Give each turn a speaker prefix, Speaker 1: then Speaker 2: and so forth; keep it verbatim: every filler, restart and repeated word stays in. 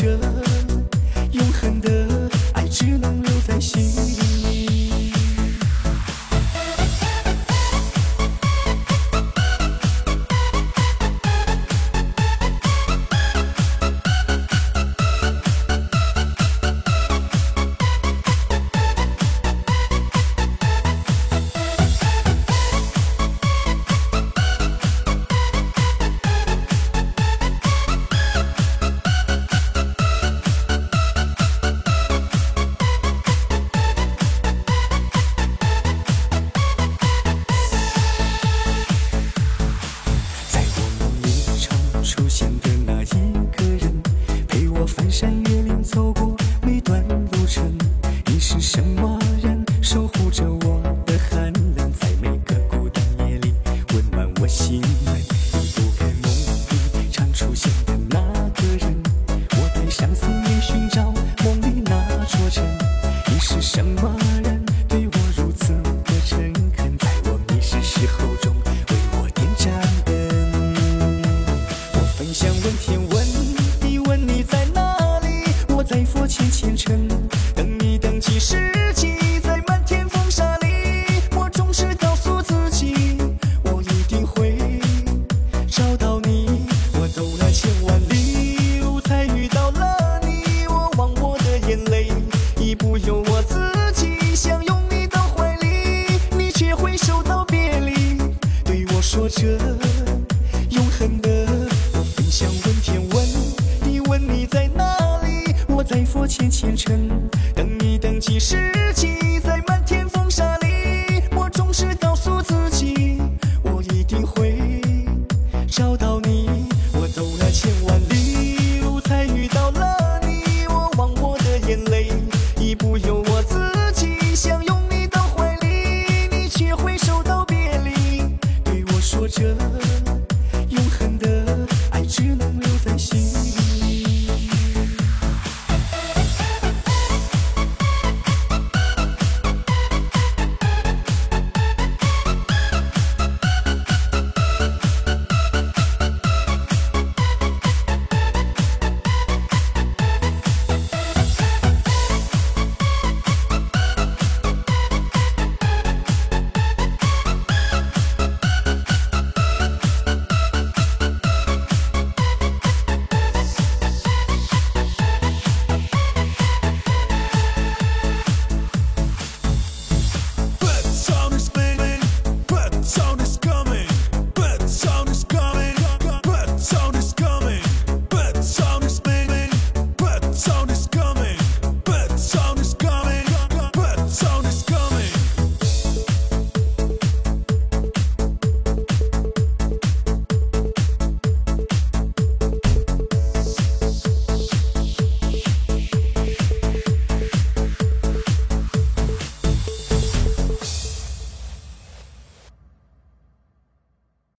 Speaker 1: 着，永恒的爱只能留在心里。出现的那一个人，陪我翻山越岭，走过每段路程。你是什么人，守护着我的寒冷，在每个孤单夜里温暖我心门。你不该梦里常出现的那个人，我带上思念寻找梦里那座城。你是什么人，对我如此的诚恳，在我迷失时候中为我点盏灯。分享问天问，你问你在哪里？我在佛前虔诚，等你等几世纪，在漫天风沙里，我总是告诉自己，我一定会找到你。我走了千万里路，才遇到了你。我忘我的眼泪，已不由我自己，想拥你到怀里，你却挥手道别离，对我说着永恒的。想问天问，你问你在哪里？我在佛前虔诚，等你等几世纪。